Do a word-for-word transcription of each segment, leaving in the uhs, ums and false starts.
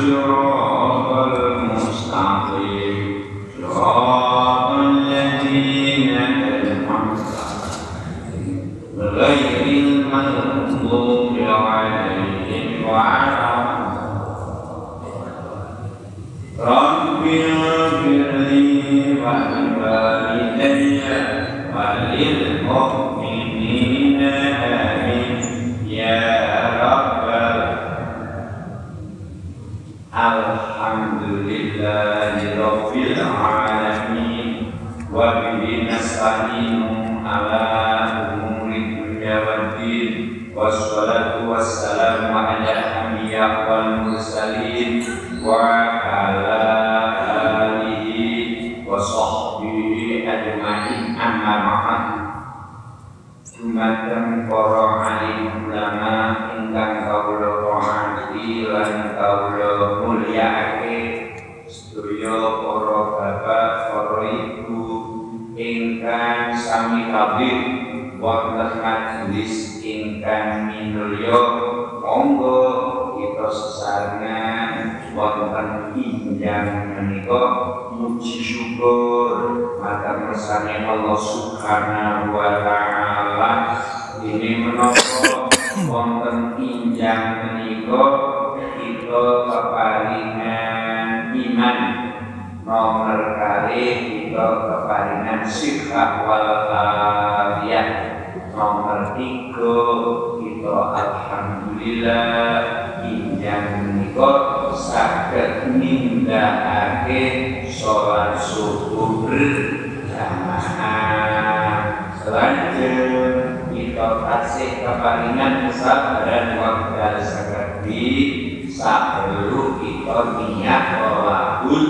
الصراط المستقيم صراط الذين أنعمت عليهم غير المغضوب عليهم ولا رب اغفر لي ولوالدي وللمؤمنين آمين يا رب الحمدلله رب العالمين وبه نستعين على أمور الدنيا والدين والصلاة والسلام على الأنبياء والمرسلين وعلى آله وصحبه أجمعين أما بعد. Dumateng para alim ulama ingkang kawula hormati lan kawula mulyakake, sedaya para bapak, para ibu ingkang sami hadir wonten majelis ingkang minulya, monggo kita sesarengan wonten injang menika muji syukur matur kersane Allah Subhanahu wa taala. Ini menapa wonten injang menika kita keparingan iman, nomor kalih kita keparingan sihah wal afiyah, nomor tiga kita alhamdulillah injang menika saged nindakake sholat subuh berjamaah. Selanjutnya kita kasih keparingan kesabaran wekdal sakadi saperlu kita niat tolakul.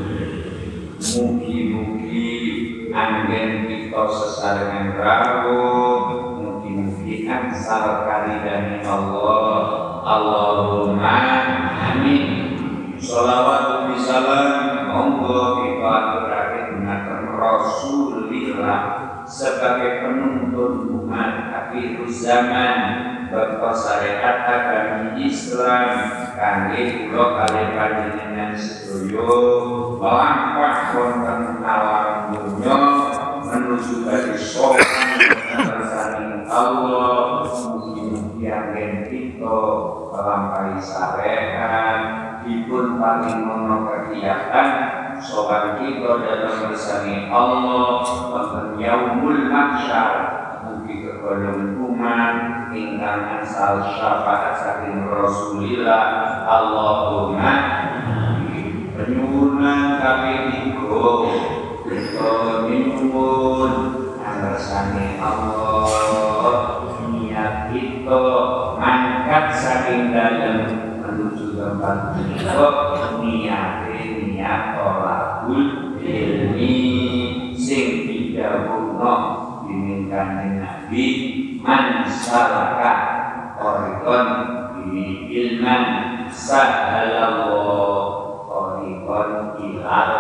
Mugi-mugi anggen kita sesarengan rawuh, mugi-mugi angsal karidani Allah. Allahumma amin. Sholawat bisalam monggo kita aturake dumateng Rasulillah sebagai penuntun umat akhir zaman bakal syariat agama Islam kangge kula kalih panjenengan sedaya melangkah wonten alam dunya menuju bagi sopan bersani Allah. Mugi-mugi anggen kita melampaui syariat dipun paling mono kegiatan sopan kita dalam bersani Allah wonten yaumul mahsyar. Mugi kegolongan umat ingkang asal syafaat saking Rasulillah. Allahumma penyuwunan kami tiga kita nyuwun bersani Allah niat kita mangkat saking dalem menuju tempat kita niat niat tolakul ilmi sing didhawuhna dening Kanjeng Nabi man salaka tariqan bi ilman sahalallahu tariqan ilal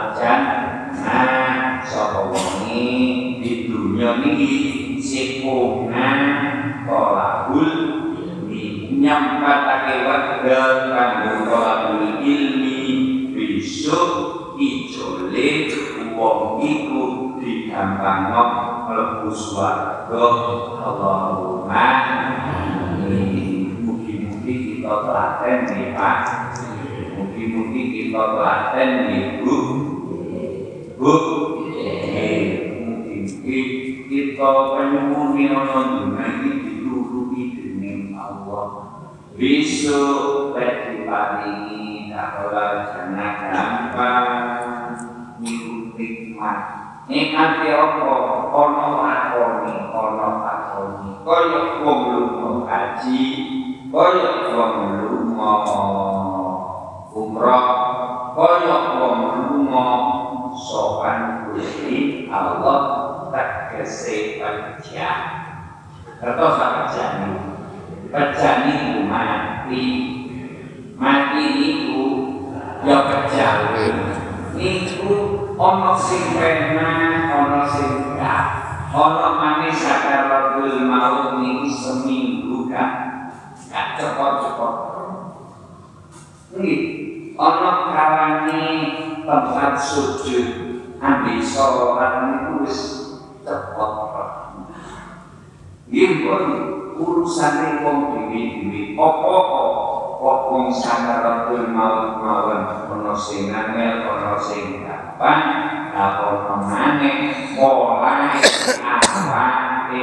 jannah. Sapa wonge di dunya niki sipuna tolakul ilmi nyampatake wekdal kanggo tolakul ilmi besok ijole wong iku digampangno mlebu swarga. Allahumma amin. Mugi-mugi kita telaten nggih Pak. Mugi-mugi kita telaten nggih Bu. Bu. Mugi-mugi kita penyuwuni ana dunya iki dituruti dening Allah. Besok bagi paringi kaula jana gampang niku nikmat. Nikmat apa? Ana lakoni, ana lakoni. Kaya wong lunga haji, kaya wong lunga umrah, kaya wong lunga sopan Gusti Allah tegese pejah. Terus pejane. Pejane iku mati. Mati niku ya pejah. Niku ana sing pernah, ana sing enggak. Ana maneh sakaratul maut niki seminggu kan. Gak cepot-cepot. Nggih, ana kalane tempat sujud ambil sholat niku wis cepet. Nggih pun urusane wong dhewe-dhewe apa-apa kok wong sakaratul maut mawon ana sing angel ana sing gampang apa maneh polahe awake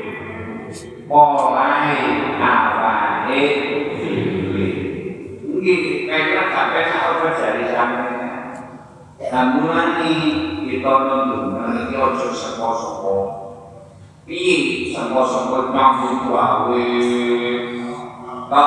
polahe awake dhewe nggih kaya kabeh apa jari sampeyan samulane kita nundung iki aja sapa-sapa piye sapa-sapa nyambut gawe kok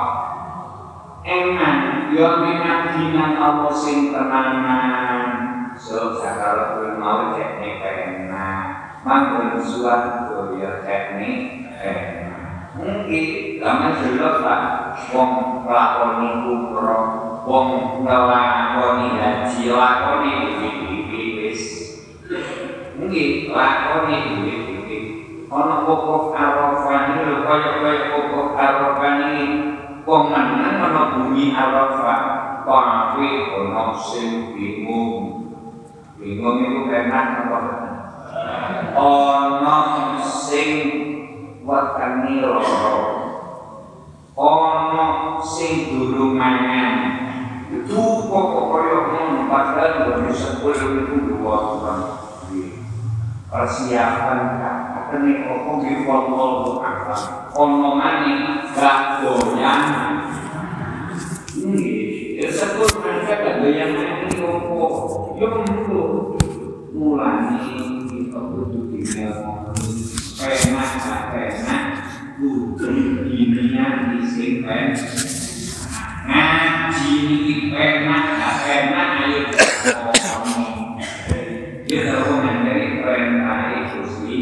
eman yo minang Allah sing tenanan so sakaratul maut teknik enak manggon suatu yo teknik enak mungkin lama jelas Pak wong lakoni umroh wong ngelakoni haji lakoni duwe-duwe wis mungkin lakoni duwe-duwe ana wukuf Arafah iki lho kaya-kaya wukuf Arafah iki wong meneng ana bumi Arafah tapi ana sing bingung bingung iku enak apa ana sing wetenge lara ana sing durung mangan itu kok kaya ngono padahal wis sepuluh itu dua tahun persiapan kene opo nggih wallahu a'lam ono maneh gak doyan nggih ya sebut mereka gak doyan iki opo yo mulu mulane kita kudu dikenal enak enak kudu dininya sing ben ngaji iki enak enak ayo ya kalau menjadi perintah itu sih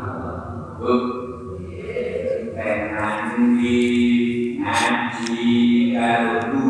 penandi ngaji kalau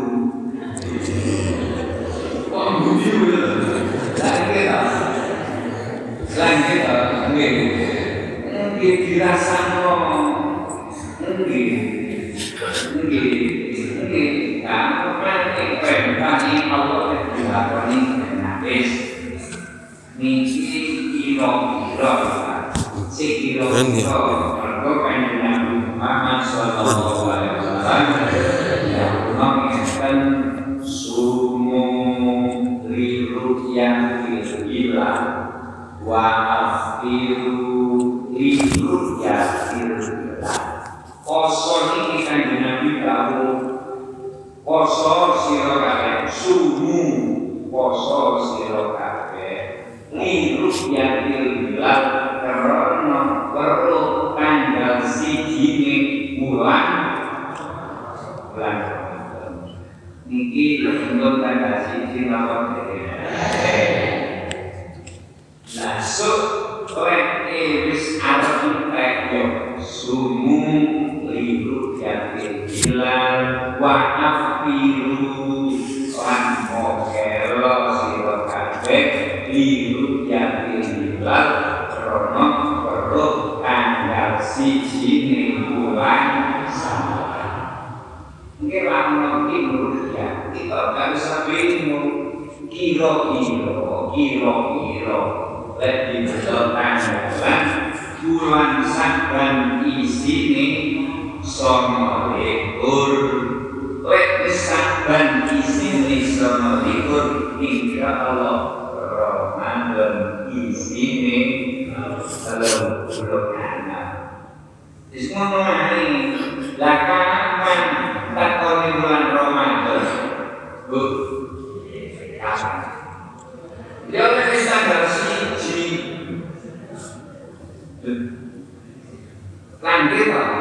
oh begitu lagi tak lagi tak mungkin mungkin dirasa mungkin mungkin mungkin kamu nanti perintah Allah dilakoni habis niki kira-kira sekira-kira mergo kanjeng Muhammad sallallahu alaihi wasallam mengatakan sumu liru'yatil hilal wa afiru liru'yatil hilal poso niki kanjeng Nabi dawuh poso sira kabeh sumu poso sira kabeh liru'yatil hilal karena perlu tanggal siji bulan bulan niki untuk tanggal siji lawan masuk oleh wis arep yo sumu liru yatil hilal wa afiru lan mokelo sira kabeh liru yatil hilal karena perlu tanggal siji bulan Syawal. Mungkin lama ini ya kita nggak bisa bingung kira-kira kira-kira lebih betul tanggalan bulan Syawal isine sama likur lebih Syawal isine sama likur insya Allah Ramadan isine kalau belum ada. Semua hari lakukan takoni bulan Ramadan. Bu, kapan? Dia lebih tanggal siji. Lanjut apa?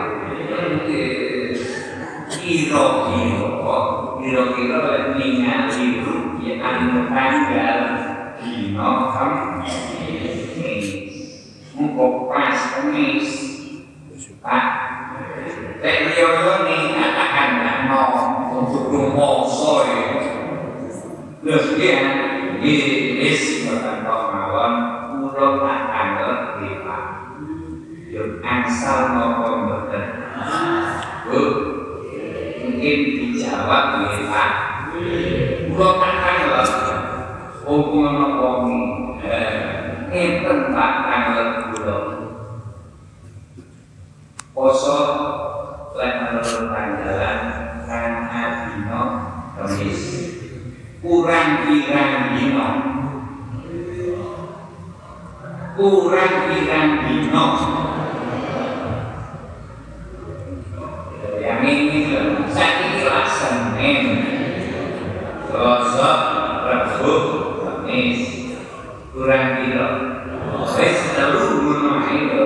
Kira-kira, kira-kira ningali rupiah tanggal dino Kamis. Mungkin pas Kamis, Pak. Teknologi ini katakan no untuk rumoso itu. Kemudian Iris berkata mawon urut tanggal lima. Yuk asal nopo mboten. Bu, mungkin dijawab ya Pak. Kula tanglet wong ana wong ngeten tak tanglet kula. Poso lan menurut tanggalan kan adino Kamis. Kurang pirang dino. Kurang pirang dino. Yang ini saya kira Senin, Selasa, Rabu, Kamis. Kurang dino. Saya selalu menemani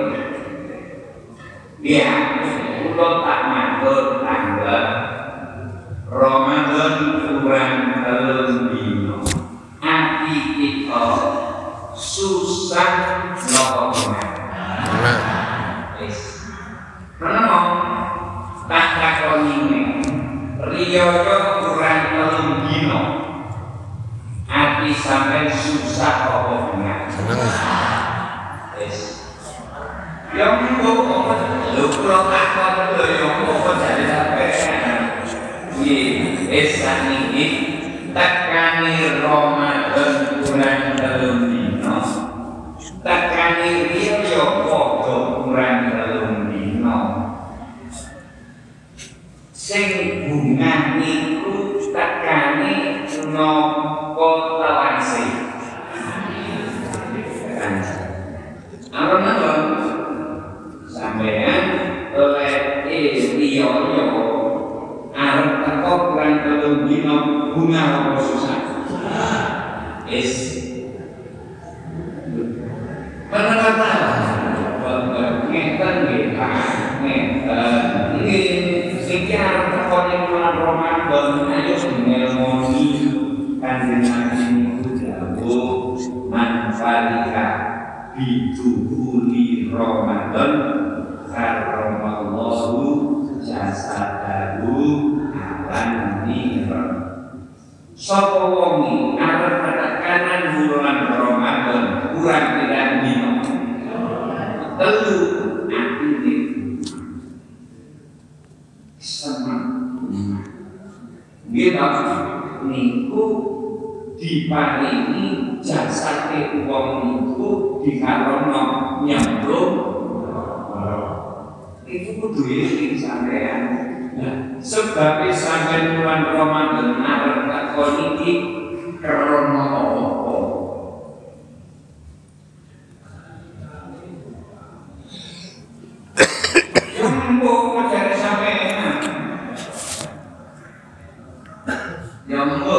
ya, kula tak matur tanggal Ramadan kurang telung dino. Ati kita susah napa menawa. Wis. Kenapa? Tak takoni riyaya kurang telung dino. Ati sampeyan susah apa menawa. Wis. Yang kok lho kula takon lho yo kok jare sampeyan. Nggih, esan iki tekani Ramadan kurang telung dino. Tekani riyo yo padha kurang telung dino. Sing bunga niku tekani napa tawase. Alon-alon sampeyan oleh riyo yo arep teko kurang telung dino bunga apa susah. Is kata-kata ngeten nggih Pak, ngeten nggih sing arep teko ning bulan Ramadan ayo ngelmoni kanjeng Nabi niku dawuh manfalika biduhuli Ramadan karramallahu jasadahu alan nira. Sapa wong arep tekanan bulan Ramadan kurang pirang dino. Telu atine seneng. Nggih niku diparingi jasate wong niku dikarono nyemplung. Itu kudu iki sampean. Nah, sebab sampeyan bulan Ramadan arep takon iki krana apa? Jumbo ngajari sampean. Jumbo.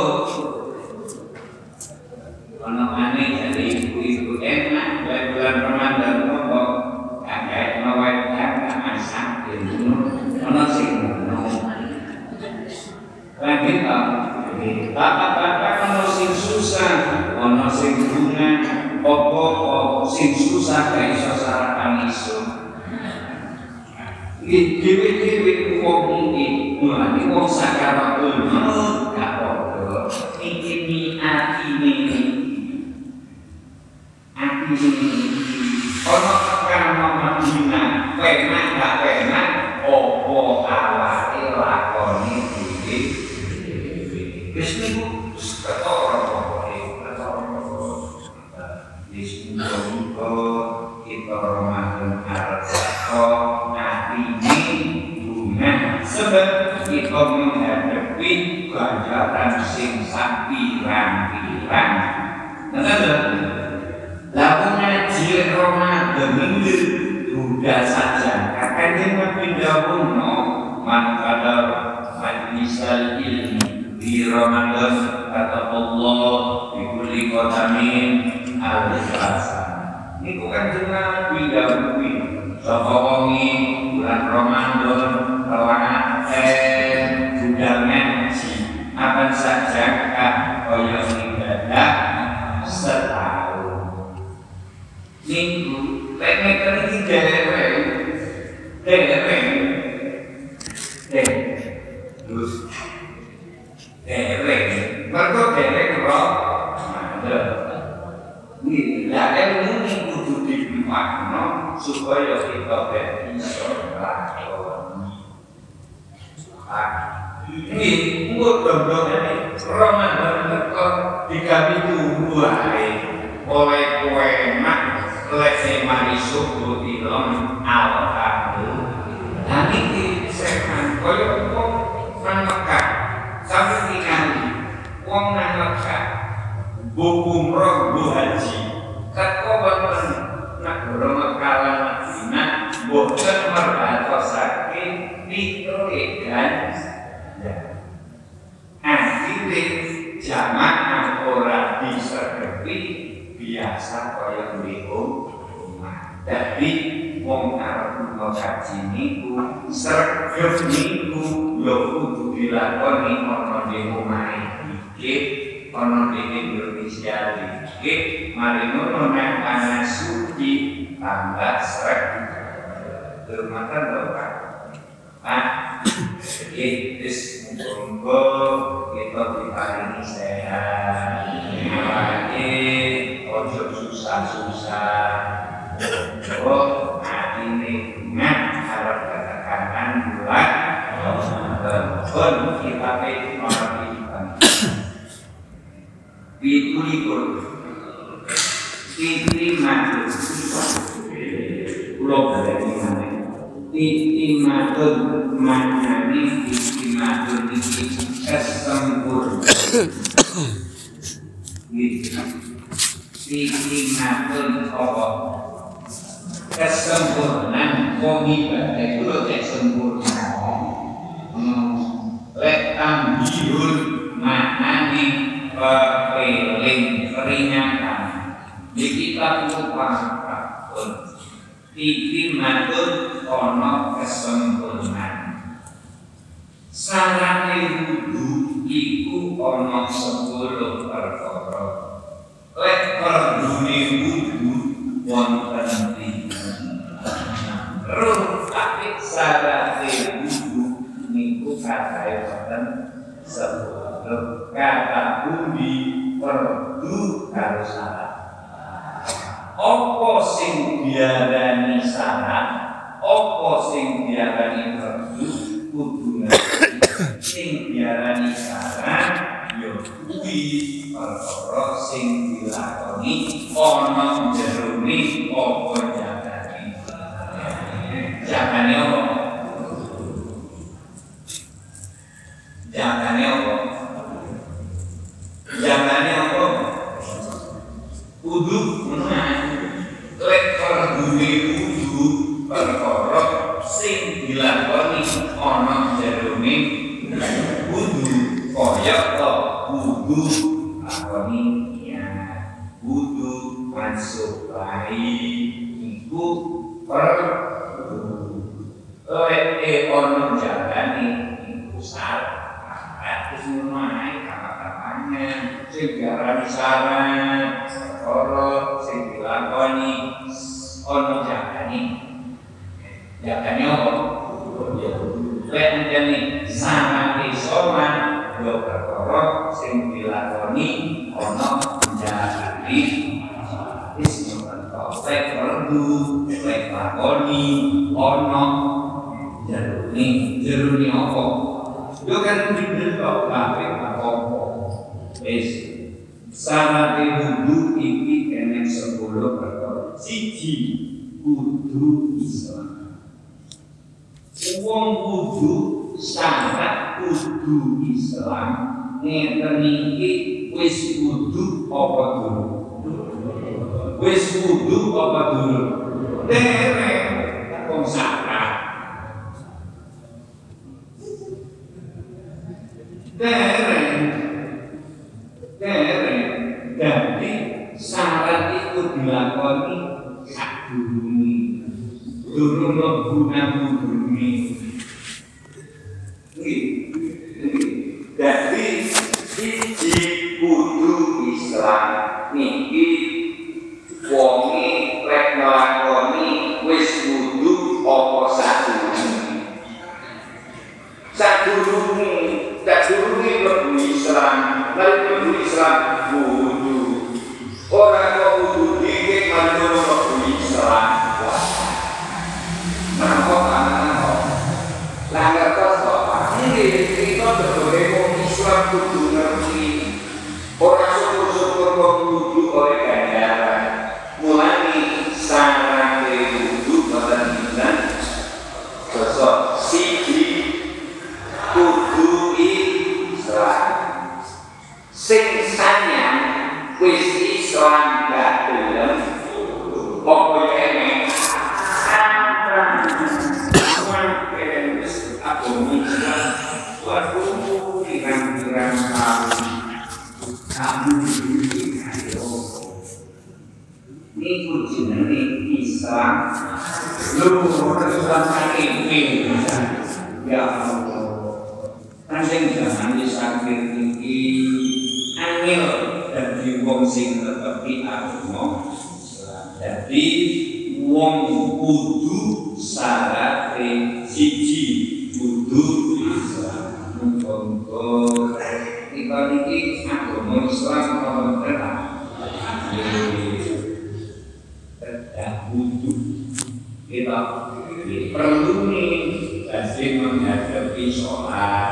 Ana maneh jadi ibu-ibu enak bulan Ramadan kok kakek mawon masak itu ana sing lagi tak bapak-bapak ana sing susah ana sing bunga apa sing susah gak iso sarapan iso iki dhewe-dhewe wong iki mulane wong sakaratul maut gak padha iki atine atine ana karo Madinah penak gak penak opo awake lakoni dhewe wis niku ketara pokoke ketara wis muga kita Ramadan arep teko atine bunga sebab kita menghadapi ganjaran sing sapirang-pirang. Lalu ngaji Ramadan ini sudah saja. Kakaknya Nabi Dawud no manfaat majlisal ilmi di Ramadan kata Allah di kulli qadamin al-rasa. Ini bukan cuma Nabi Dawud. Sokongi bulan Ramadan kawan eh sudah ngaji apa saja kah koyo ibadah setahun. Minggu pengen iki dhewe dhewe dhewe terus dhewe mergo dhewe karo ada iki la ilmu kudu dimakna supaya kita bisa lakoni. Ah ini nggo dong-dong ini Ramadan dikami tunggu ae oleh kowe mak lek mari subuh dilom alhamdulillah. Dan iki sekan koyo wong nang Mekah sampe tingali wong nang Mekah buku umroh bu haji teko wonten negara Mekah lan Madinah boten merbatosake pituré ganja. Akhire jamaah ora disergepi biasa kaya di omah. Dadi wong arep ngaji niku sregep niku ya kudu dilakoni ana di omahe iki ana di Indonesia iki mari ngono nek ana suci tambah sregep dermatan lho Pak. Pak iki wis monggo kita diparingi sehat awake ojo susah-susah. Oh, ini ingat harap katakan bulan pun kita mengertikan itu libur titi matur pulau dari mana titi matur manani titi matur titi kesempur titi matur apa kesempurnaan wong ibadah itu lho cek sempurna. Lek tambihun maknane pepeling peringatan di kitab pun titi matur ana kesempurnaan. Sarane wudu iku ana sepuluh perkara. Lek perdune wudu wonten ruh tapi sarate wudu niku katae wonten sepuluh kata budi perdu karo syarat. Apa sing diarani syarat, apa sing diarani perdu kudu ngerti. Sing diarani syarat ya kuwi perkara sing dilakoni ana jerone apa jagane. Jagane apa? Jagane apa? Jagane apa? Kudu ngono ae. Lek perdune kudu perkara sing dilakoni ana jerone kudu kaya to kudu lakoni ya kudu masuk bayi iku per eh ono jalani iku salah terus ngono ae kata-katanya sing diarani saran perkara sing dilakoni ono jalani jalani apa lek njane samane sowan yo perkara sing dilakoni ana jalani wis ngono lek perdu lek lakoni ana jerone jerone apa yo kan bener kok kabeh apa wis samane wudu iki kene sepuluh perkara siji kudu Islam. Wong kudu syarat kudu Islam ngeten iki wis kudu apa dulu? Wis kudu apa dulu? Derek wong syarat. Derek derek dadi syarat iku dilakoni sadurunge durung mlebu nang bumi. Dadi siji kudu Islam niki wonge lek nglakoni wis kudu apa sadurunge. Sadurunge, sadurunge mlebu Islam, nek mlebu Islam kudu ora kok kudu dikek manut mlebu Islam. Nah, kok ana kok Islam lu Islam ini ya Allah kanjeng zaman disakit iki angel dadi wong sing netepi agama dadi wong kudu syarate siji kudu Islam monggo kita iki agama Islam apa tenan butuh kita perlu nih kasih menghadapi sholat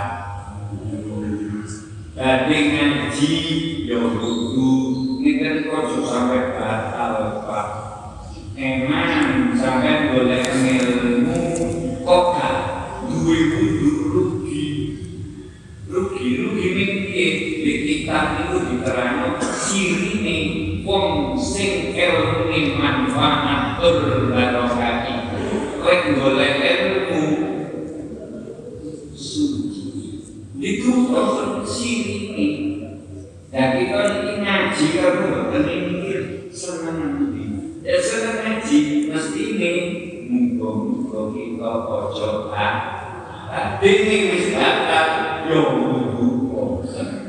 dari ngaji ya butuh ini kan kok sampai batal pak emang sampai boleh ilmu kok gak duwe butuh rugi rugi rugi ini di kitab itu diterangkan sirine wong sing ilmu manfaat berbarokah kowe golek ilmu suci itu proses sirine dan kita ini ngaji kamu boten mikir seneng ndi ya seneng ngaji mesti ini muga-muga kita aja ah dene wis batal yo kudu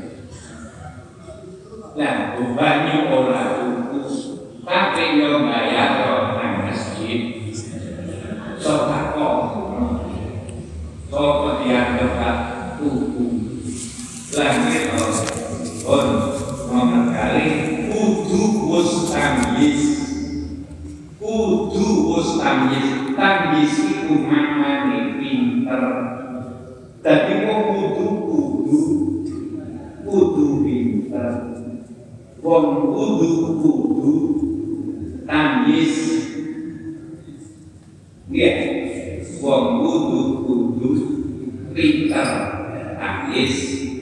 nah, banyak orang utus, tapi yang bayar orang masjid, sokako, sokako dianggap tubuh, langit pun nomor kali, kudu bos tangis, kudu bos tangis, tangis itu mana nih pinter, tapi kok kudu kudu, kudu pinter. Wong kudu kudu tangis, ya. Wong kudu kudu pinter tangis.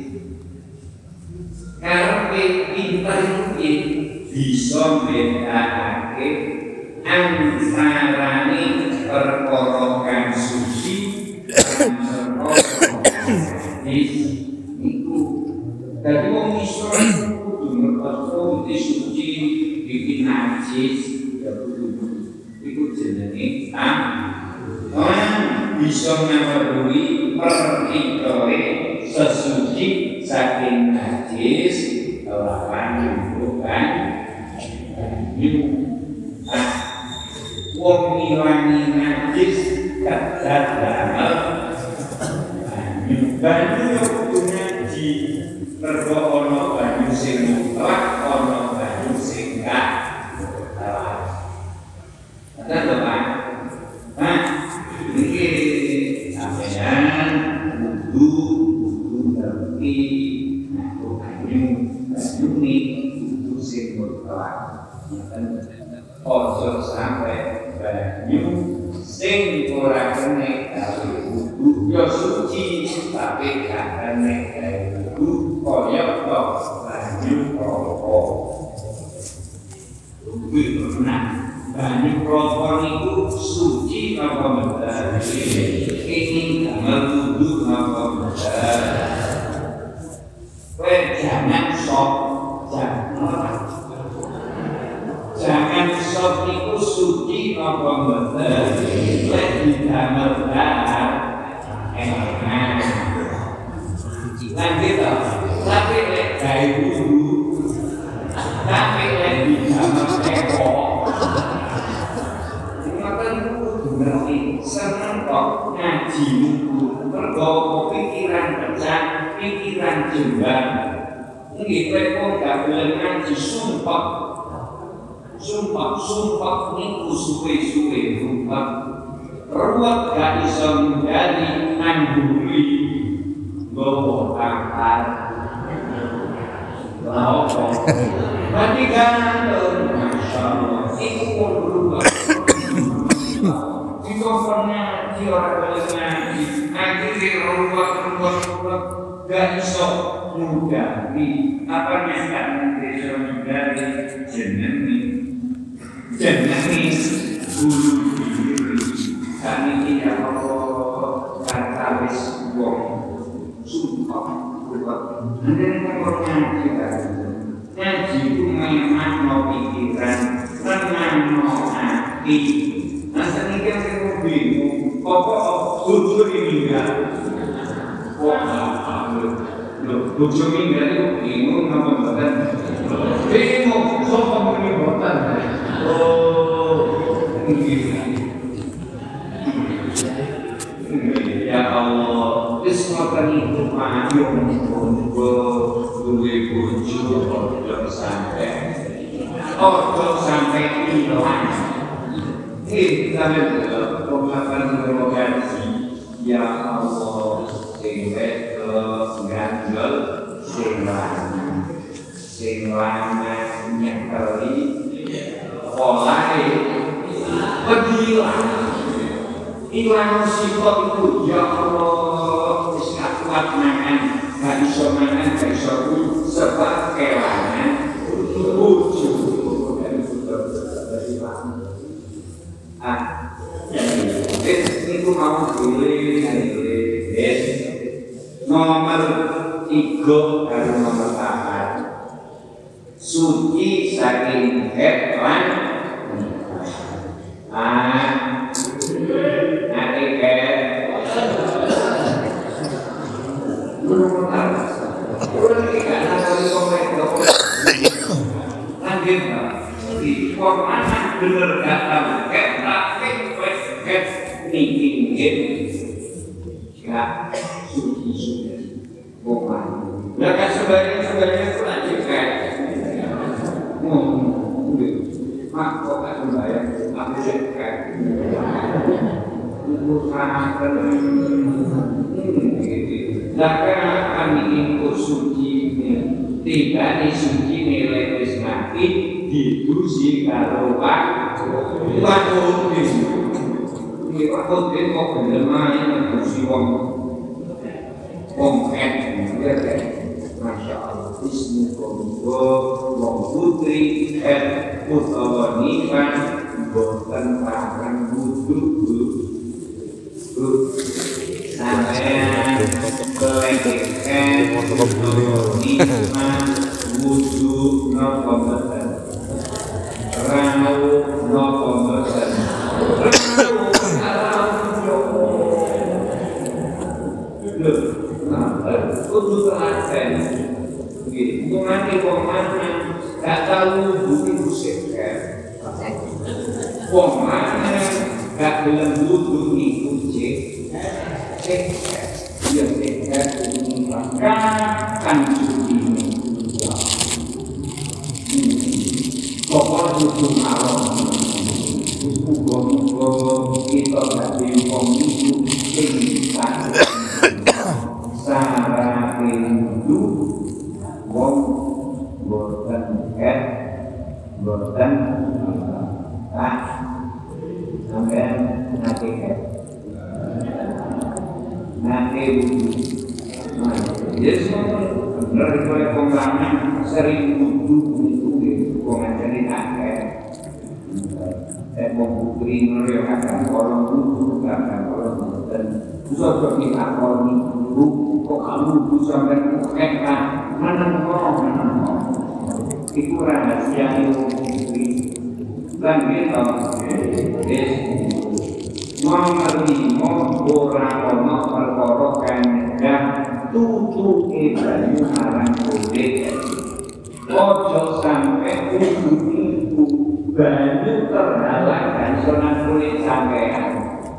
Karepe pinter iki bisa bedakake antarane perkara kang suci lan perkara iku. Dadi wong iso Rasul disuci bikin najis ya kudu itu jenenge orang bisa memenuhi perkitoe sesuci saking najis lawan bukan ah wong ngilangi najis kadang-kadang banyu yo kudu ngaji mergo ana banyu sing mutlak ana banyu sing gak mutlak. Ada to Pak? Nah, iki sampeyan kudu kudu ngerti aku banyu banyu ni kudu sing mutlak. Ojo sampai banyu sing ora kene karo kudu yo suci tapi gak kene karo kudu koyok tok banyu rokok. Kuwi nah banyu rokok niku suci apa mboten? Ini damel kudu apa mboten? Kowe jangan sok jangan jangan sok niku suci apa mboten? Kowe didamel dahar enak. Lan kita tapi lek gawe wudu tapi lek dijamel teko ngoten kudu ngerti seneng kok ngaji wudu mergo pikiran pecah pikiran jembar nggih kowe kok gak boleh ngaji sumpah sumpah sumpah niku suwe-suwe sumpah ruwet gak iso ngendali nanduri gowo akal lawa mati gantung masyaallah iku pun berubah jika pernah jiwa boleh ngaji akhirnya ruwet-ruwet gak iso mudari apa yang gak iso mudari jenengi jenengi bulu diri kami tidak mau kata wis wong sumpah buat anda ngomong ngaji ngaji itu memang no pikiran tenang no hati mati. Nah saniki aku bingung, apa bojo meninggal? Wah, lho, bojo meninggal itu bingung apa mboten? Bingung, sapa muni mboten? Oh, nggih. Ya Allah, wis ngoten iku payu muga duwe bojo ojo sampe ojo sampe ilang. Eh, sampe pengalaman terogasi. Ya Allah, sing wedok gandel, sing lanang, sing lanang nyekeli, polahe pedilang. Ilang sifat itu, ya Allah, wis gak kuat mangan, gak iso mangan, gak iso kuat, sebab kelangan bojo. Ah, wis niku mau pilih, wis nomor tiga karo nomor empat. Suci saking head lan ah nanti kayak belum tahu udah tiga kali komen lanjut di mana bener gak tahu kayak praktek kayak bikin game gak suci sudah bukan mereka sebenarnya sebenarnya itu lanjut kayak ngomong mak kok gak sembahyang aku kayak usahakan Zakar kami ingkut suci tidak disuci nilai ismati didusi kalau pak waktu ini waktu itu kok bener main didusi wong wong et Masya Allah Bismillah wong putri et utawa nikah boten pakan wudhu sampean kelengkekan nikmat wudhu napa mboten rau napa mboten rau lho nah kudu telaten nggih mungkin wong lanang gak tau wudhu iku seker wong lanang gak gelem wudhu iku cek seker ya seker ini kapan suci pokok wudhu malam muga-muga kita dadi wong wudhu sing sarate wudhu wong boten ket boten ah sampean nanti ket nanti wudhu jadi semua bener oleh pengelangan sering wudhu itu pengajarin akhir saya mau putri nuriyo akan orang wudhu akan orang boten susah kita orang wudhu kok kamu wudhu sampai kekek mana ngomong mana ngomong itu rahasia ilmu putri dan kita nomor lima orang ono perkara kandang tutu banyu marang kulit ojo sampai wudhu itu banyu terhalang dan sunat kulit sampean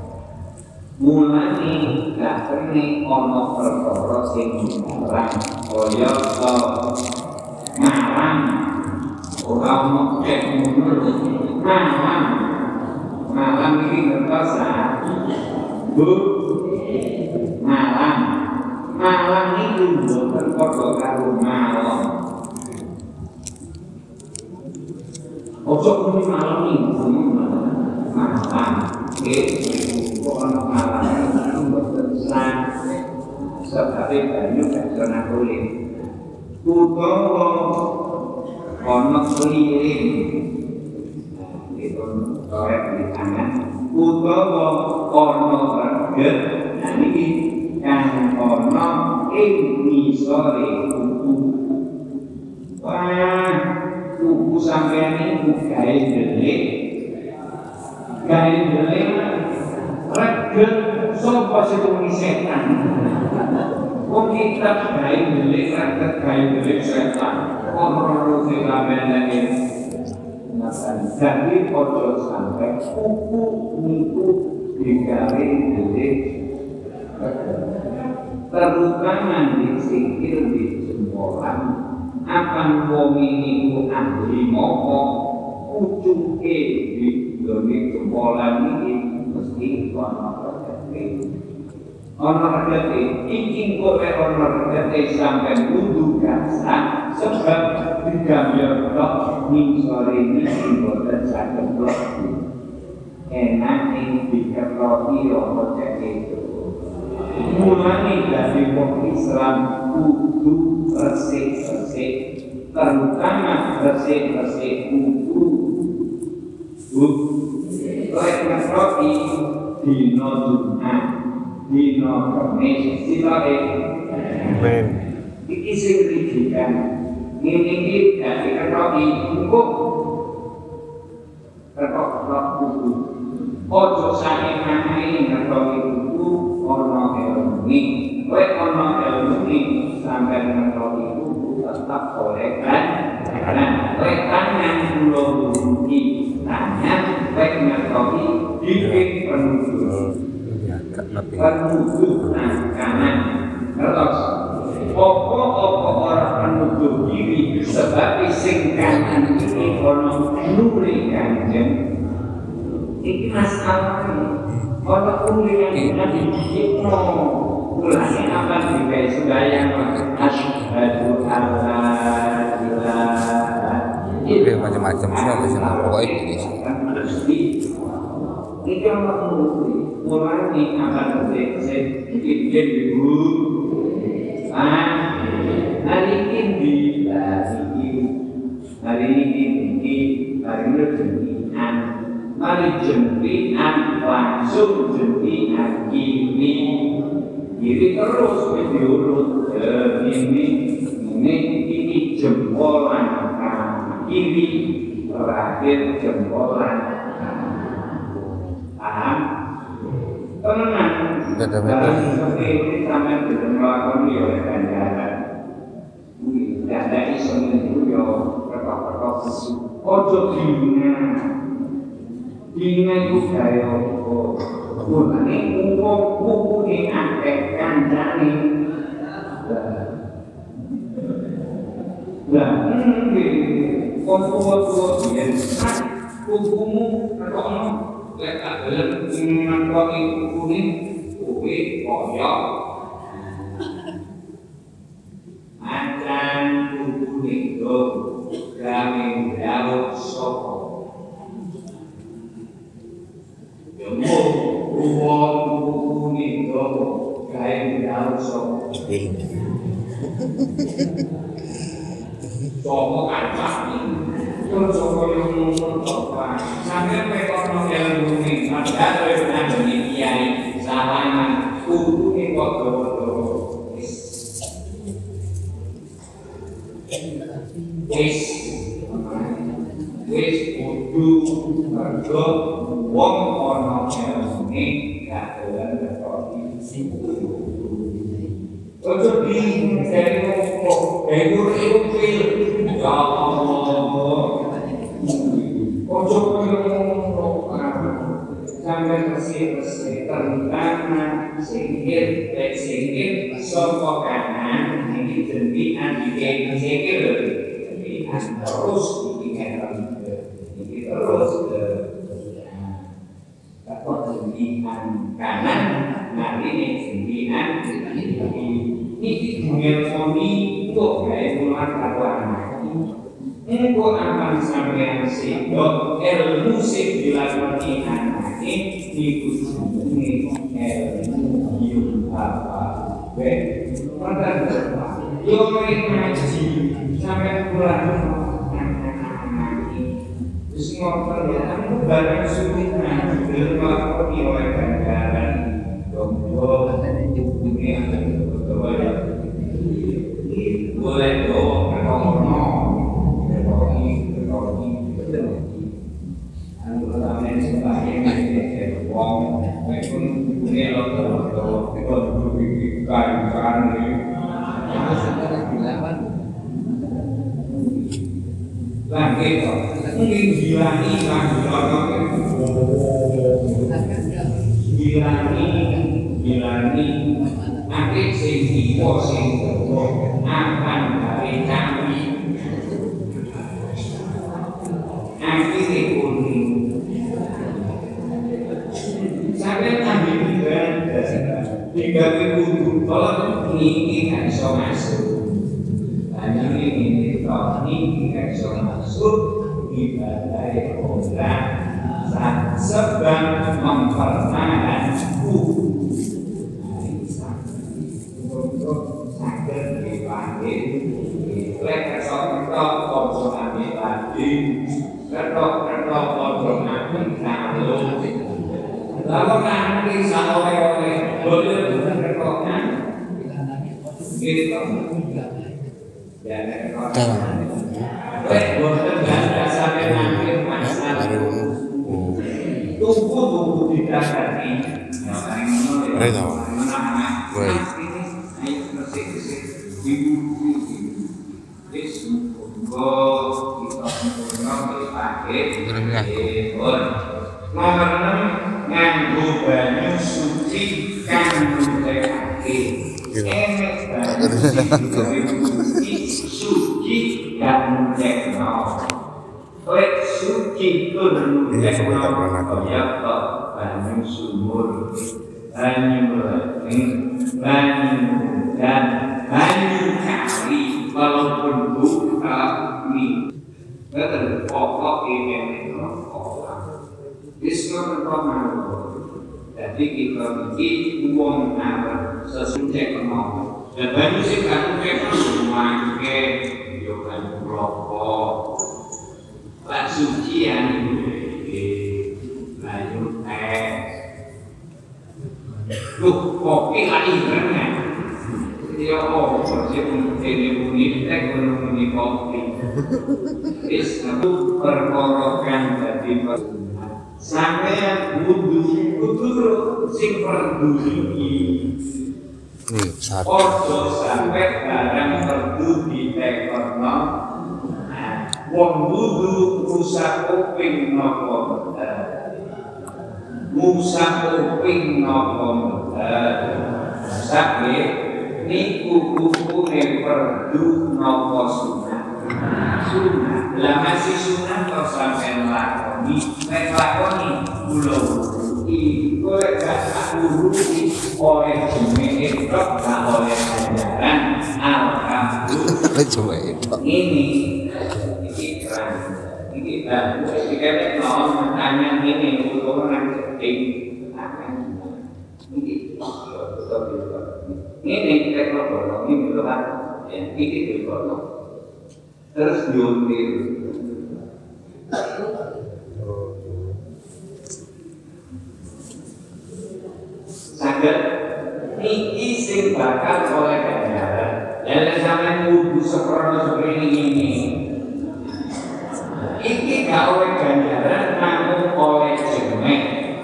mulane gak kene ono perkara sing larang kaya marang ora ono cek ngono marang marang iki ngertos Bu marang marang iki mboten padha karo malam ojo muni malam iki malam iki kok ana malam mboten sang sebab banyu gak ana kulit utawa ana keliling itu korek di tangan utawa ana reget nah niki kang ana ing ngisore kuku wah kuku sampeyan niku gawe delik gawe ndeleng reget sapa sing setan. Wong kita gawe ndeleng reget gawe ndeleng setan. Ora sing lamene jadi ojo sampai kuku niku digawe ndeleng terutama di sikil di jempolan akan wong niku ahli moko ucuke di gone jempolan iki mesti ana regete ana regete iki kok ana regete sampai kudu gasak sebab digambar tok ning sore iki boten saged blok enak ing dikeroki ora cek mulai dari wong Islam kudu resik-resik terutama resik-resik kudu lek ngerti dino Jumat dino Kamis silare amen iki sing didikan ngene iki dadi ngerti engko kok kudu ojo sae manahe ngerti kudu ono ilmu kowe ono ilmu sampai ngerti kudu tetap oleh kan nah kowe tangan kula iki tangan kowe ngerti bikin penutur penutur kanan terus opo-opo orang penutur kiri sebab sing kanan iki ono nuri kanjeng iki masalah ono nuri kanjeng iki mulane apa digawe sembahyang asyhadu alla ilaha illallah macam-macam sih ada pokoknya ini sih iki ono nuri mulane apa digawe iki ibu ah hari ini hari ini hari ini hari jempian hari jempian langsung jempian kiri kiri terus diurut ini ini ini jempolan kiri terakhir jempolan paham tenang dalam seperti ini sampai belum melakukan oleh ganjaran tidak ada isu itu ya perkok-perkok ojo dina dina itu kaya mulane wong kuku ning akeh kancane lah nggih kon tuwa-tuwa yen kukumu ketokno lek adelan ngakoni kukune kowe kaya acan kukune do gawe daud sapa yo wong kukune do gawe daud sapa sapa kancane terus sapa yo ngono sampe pekono ilmu ning padha kowe nang kiai salaman kukune kok dawa-dawa wis wis kudu mergo wong ana ilmune gak dolan ngerti ojo di dari kok egur ilmu ya Allah ojo ngono sampai bersih-bersih terutama singkir dan singkir soko kanan ini jempian bikin singkir jempian terus bikin ini terus atau jempian kanan nah ini jempian ini mengelponi kok kayak bulan kawan engko akan sampeyan sehingga ilmu sing dilakoni anake iku jenenge ilmu yung apa we padha yo ngaji sampeyan kurang anake wis ngoten ya aku bareng sunnah dilakoni oleh ganjaran donggo ini boleh doa kerono Amin. Amin. ini loh kalau itu bikin kain ini lagi kok mungkin hilangi lagi hilangi hilangi nanti sing ipo sing akan dari kami akhirnya kuning sampai kami juga tiga ribu kalau ini kan bisa masuk hanya ini kalau ini kan bisa masuk ibadah orang sebab mempertahanku untuk sakit dipanggil lek kesok-kesok konsol ambil lagi ketok-ketok konsol ambil kalau lalu nanti sama oleh-oleh boleh bukan ketoknya gitu ya ketoknya lek boleh ganda sampai nanti masalah tunggu-tunggu tidak tadi Baik, baik. Nomor enam nganggo banyu suci kang nutekake. Enek banyu suci kang nutekno. Lek suci tur nutekno kaya banyu sumur, banyu lering, banyu dan banyu kali walaupun buka mie. Betul, pokok ini orang. Islam berpengaruh. Jadi kita bikin uang apa sesuai kemauan. Dan banyak sih kan kita memakai yoga rokok, lah sucian banyak teh. Loh, kopi lagi kan? Dia oh, masih ini bunyi teh bunyi kopi. Islam perkorokan jadi sampai wudhu wudhu sing perduli ojo sampai barang perdu di tekorno wong wudhu rusak kuping nopo rusak kuping nopo sampai niku kupune perdu nopo sunat sunat lah masih sunat kok sampai lakoni nek lakoni kula iki kowe gak urusi oleh jenenge tok gak oleh ajaran alhamdulillah Coba itu. ini iki kan iki kan iki non tanya ini untuk nang sedih ini ini kita kalau ini belum ya ini belum terus diuntir saged niki sing bakal oleh ganjaran lan sampeyan kudu seprono seperti ini iki gak oleh ganjaran namun oleh jemek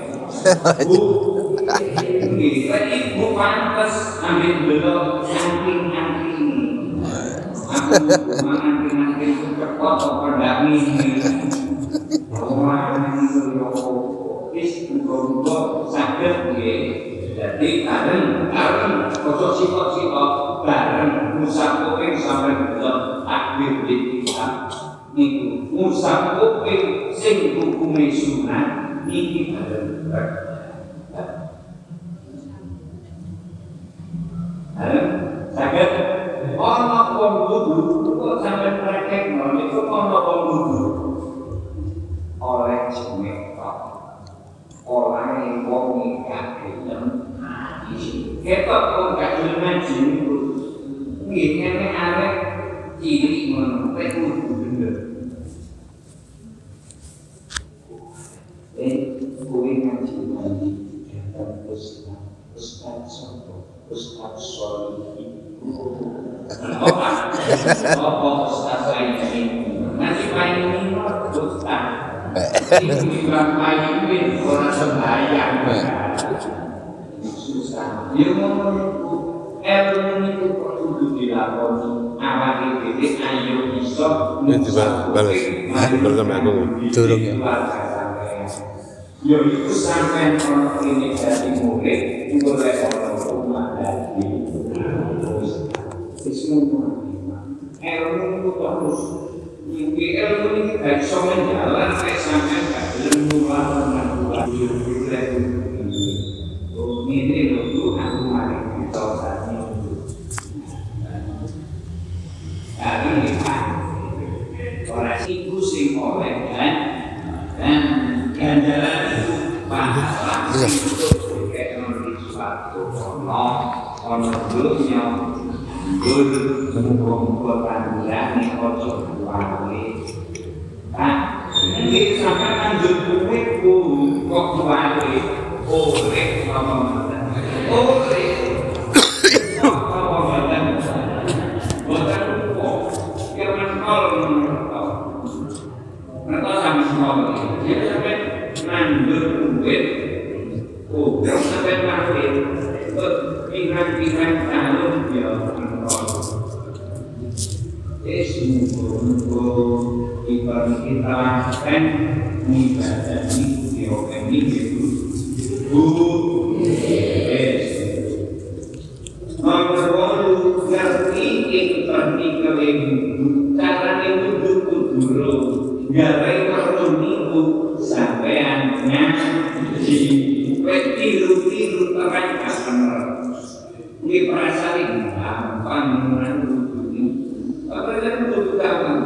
iki ibu pantes ambil belok samping-samping aku mangan-mangan cepot apa ndak mini orang itu wis muga-muga saged nggih dadi bareng bareng ojo sipok-sipok bareng musab kuping sampe delok takbir dikira niku musab kuping sing hukume sunat niki bareng bareng saged ana wong wudu kok sampe praktekno niku ana wong wudu oleh jemek kok oleh wong gak gelem ketok kok gak gelem ngaji niku nggih ngene arek cilik ngono nek kudu bener eh kuwi ngaji ngaji terus ustaz sopo ustaz Solihin apa ustaz lain nanti paling ini ustaz ini bilang paling ini orang sembahyang Yo ngono ilmu itu kudu dilakoni awake dhewe ayo iso balas balas sama aku durung ya yo iku sampean ono ini dadi murid golek ono rumah dadi wis ngono ilmu itu terus iki ilmu iki gak iso menjalan nek sampean gak gelem ngulangkan oh ini lho aku mari kita sami kali Pak ora iku sing oleh kan dan ganjaran itu pahala itu kayak nulis suatu ono ono dunya dulu kumpul panjang nih ojo wali kan ini sampai lanjut duit bu kok wali oleh apa oleh apa badan badan kok kira kalau mereka sama semua jadi sampai lanjut duit oh sampai mati pikiran-pikiran calon ya Esmuko ibarat kita kan ibadah ini diopen itu bu es nomor ngerti itu tadi kalian cara itu dulu gawe perlu minggu sampean ngaji tiru-tiru terang customer ini perasaan gampang menurut apa yang butuh gampang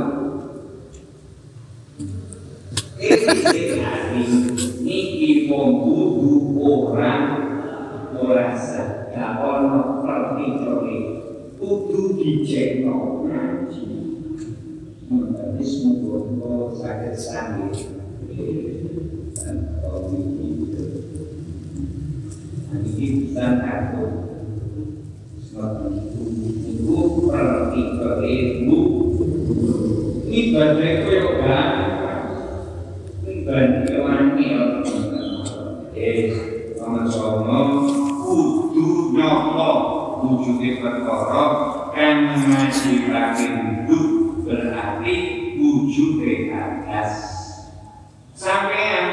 ini niki membutuh orang merasa gak ono pertikoli kudu dicekno ngaji mengenai semua sakit sakit dan ini ini bisa takut itu pertikoli bu ini badai koyoga bandhe wangi eh sama-sama kudu nyapa wujude perkara kang ngasilake hidup berarti wujude atas sampeyan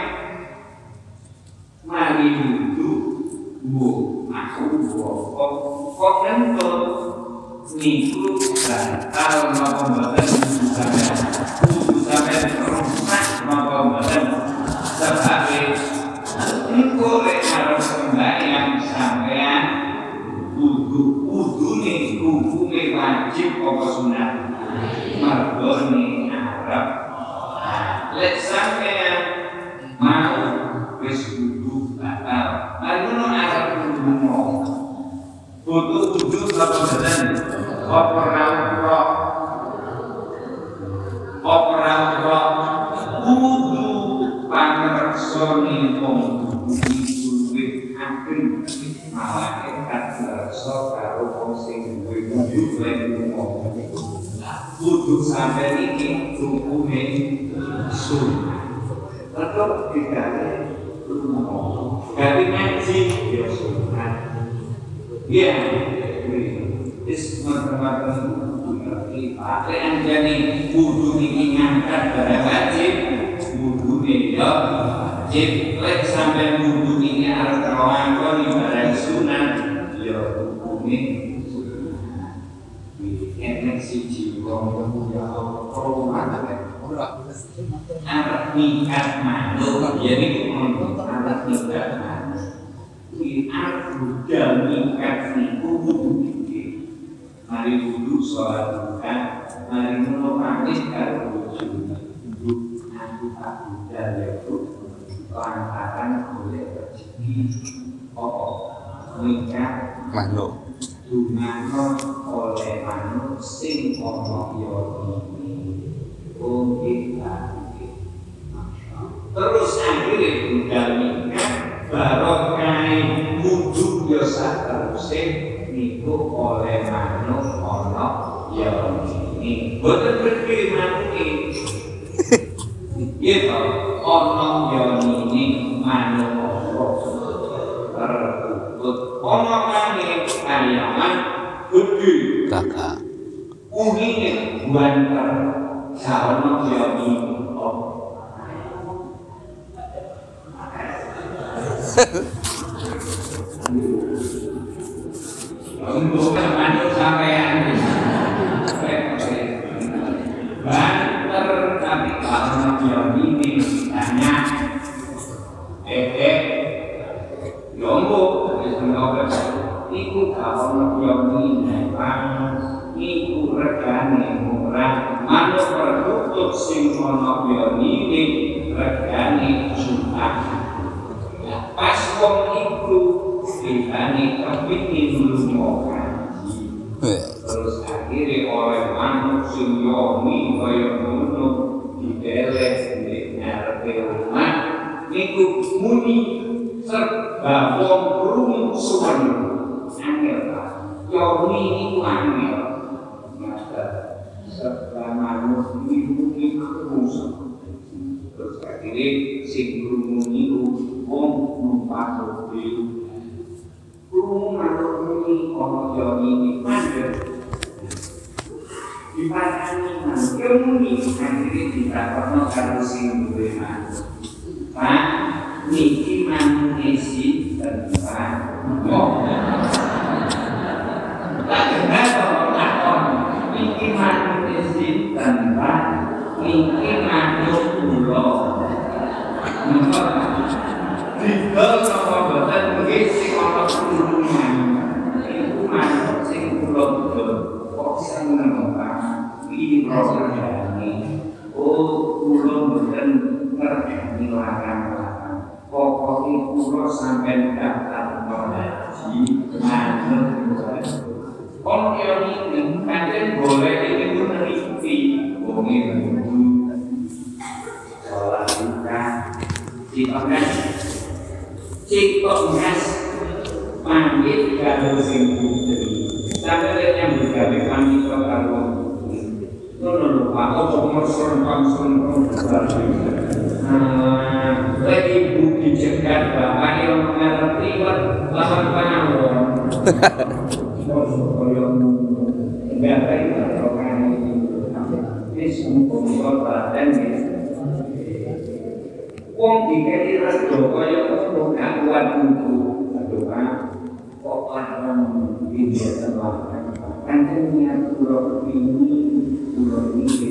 mari hidup bu aku kok kok nentut niku bakal napa mboten sampeyan kudu sampeyan rusak napa mboten sebagai niku lek arep sembahyang sampeyan kudu kudune hukume wajib apa sunat marbone arep lek sampeyan mau wis kudu batal ngono arep kudu butuh wujud apa mboten apa ora apa ora kudu pangreksane wong kudu wit akhir malah kat kersa karo wong sing duwe wujud lan kudu sampe iki hukume sunah tetep digawe gawe ngaji ya sunah ya is macam-macam pakai anjani wudu ini ngangkat barang wajib wudu ini ya wajib lek sampai wudu ini harus terlangkoni barang sunat ya hukumnya enek siji wong ya rumah anak nikat manuk jadi anak nikat manuk ini anak budal nikat niku wudu mari wudu sholat bukan mari menopangis karo wudu aku tak budal ya bu lantaran oleh rezeki apa nikah makhluk dunganno oleh manuk sing ana ya ini oh kita terus akhirnya budal nikah barokah wudu ya saterusé niku oleh manuk ana ya ini boten berpikir manuk iki ya ana ya ini manuk apa terbut ana kang preman gede kakak unine banter sawono jadi oh untuk manut sampean banter tapi kalau jadi ini tanya eh eh yombo iku kalau jadi iku regane murah manut produk sing ana ini regane jutaan pas wong iku dikane kepingin lunga kaji terus akhirnya oleh manuk sing yomi kaya ngono dideleh di ngarepe rumah niku muni serba wong krungu suwen angel ta yomi niku angel master serba manuk niku krungu terus akhirnya sing krungu niku wong numpak mobil krungu manuk muni ana yomi mandeg dipatani manuk muni akhirnya ditakokno karo sing duwe manuk Pak niki manuk isi Pak oh tak kenal takon niki manuk isi Pak niki manuk kula didol sapa boten nggih sing ana kurungan iku manuk sing kula dol kok seneng Pak iki programe oh kula boten ngerti larang-larang pokoke kula sampeyan daftar haji manut kon yo iki pancen boleh iki ngerti wong iki salah Cikongas Cikongas pamit karo sing putri sampe yang bergawe pamit karo ngono lho Pak opo merson-merson lagi ibu dicegat bapak yang mengerti lawan pawon enggak baik orang ini sumpah badan wong dikeki redo kaya ngono gak kuat kudu aduh Pak kok orang iki tenan pancen niat kula ini kula iki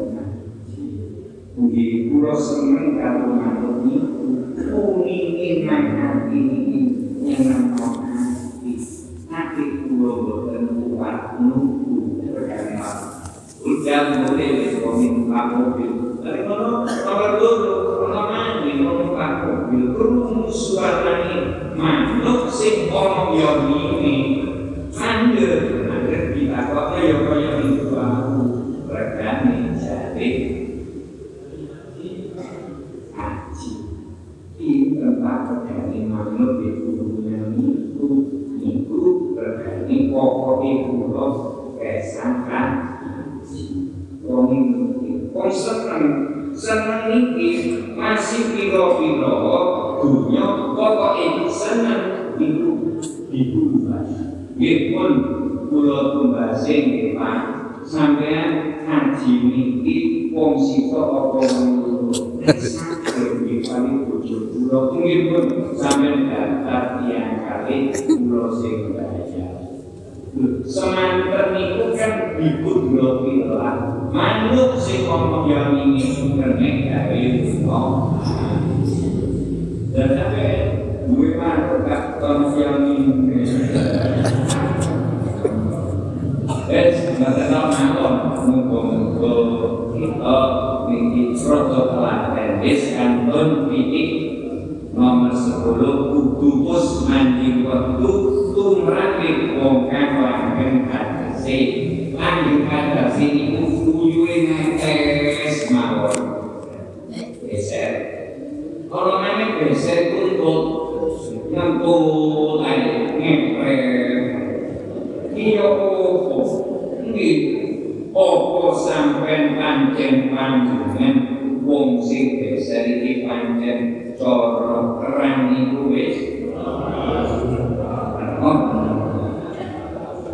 nggih kula seneng karo manuk niku uni nang iki nyeneng ati ati kula boten kuat nunggu regane udah mulai wis komin mobil dari ngono nomor loro ono maneh numpak mobil krungu suarane manuk sing ana yonine mandeg mandeg ditakokne ya kaya itu aku regane jare haji iki tempat regane manuk itu niku niku regane pokoke kula kesangkan wong wong seneng seneng iki masih piro-piro dunya pokoke seneng niku dibubas nggih pun kula tumbase nggih Pak sampeyan haji niki wong sita apa ngono nggih paling bojo kula nggih pun sampeyan daftar tiyang kalih kula sing bayar semanten niku kan dibudro pilah manuk sing ana yang ingin kernek gawe lunga dan sampe duwe manuk gak ana yang ingin es ngateno mawon muga-muga kita niki rada telaten wis kantun titik nomor sepuluh kudu pus manjing wektu tumraping wong kang langgeng kadhase langgeng kadhase niku uyuhe ngetes mawon geser kalau meneh geser tuntut nyemput ae ngeprem iya opo nggih opo sampean pancen panjenengan wong sing geser iki pancen cara kerang niku wis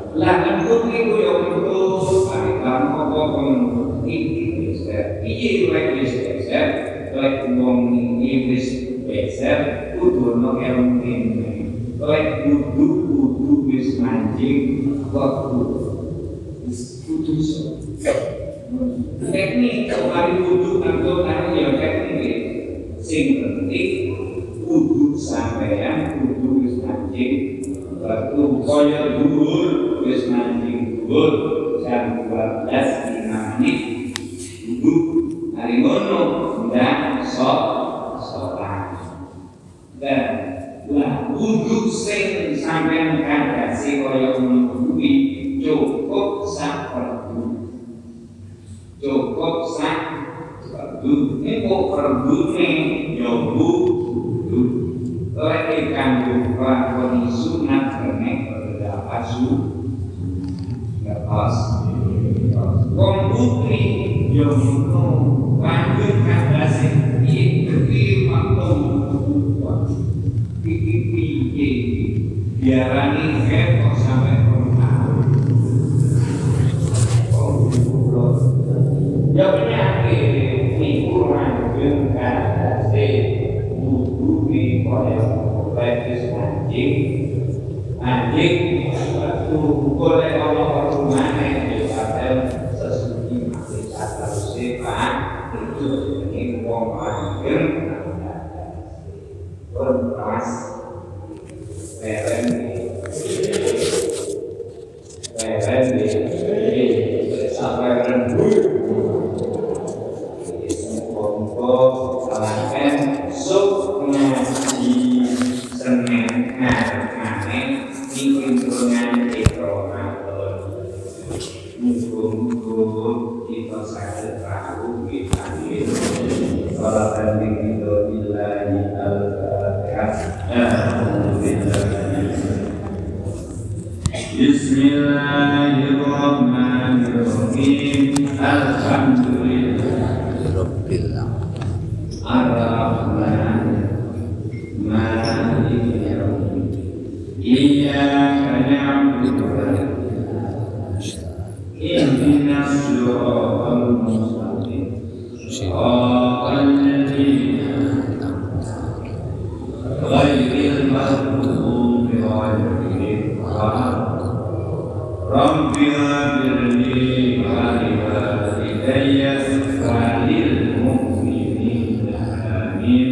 Anak putri ku yang betul, kalian apa pun ini beser, ini lagi beser, lagi ngomong Inggris beser, kudu no elmune, lagi kudu kudu bis mancing, waktu kudu so. Teknik kali kudu atau anu yang teknik, sing penting kudu sampeyan kudu bis mancing, waktu koyo dhuwur wis mancing dhuwur jam dua belas lima menit duduk hari ngono ndak sok sokan dan lah wudhu sing sampeyan kandhase kaya ngono kuwi cukup sak perdu cukup sak perdu niku perdune yo wudhu lek kanggo lakoni sunat kene berdapat su lepas wong putri yo ngono lanjut kandhase iki iki waktu iki piye diarani ketok sampai pertahun ya penyakit niku lanjut kandhase wudu di koyo levis anjing anjing waktu boleh Allah perumane di hotel sesuci masih kata sepan itu ini wong anjing berpas peren peren di sampai rendu untuk alasan sup ngaji Senin ngarep-ngarep minggu turungan di Ramadan mumpung kita sakit tahu kita ini kalau tadi kita bilahi al-fatihah Bismillahirrahmanirrahim Alhamdulillah Rabbil Ar-Rahman Maliki Yawmiddin Iyyaka na'budu wa ihdinas siratal mustaqim Shiratal ladzina ghairil maghdubi 'alaihim waladdallin Rabbil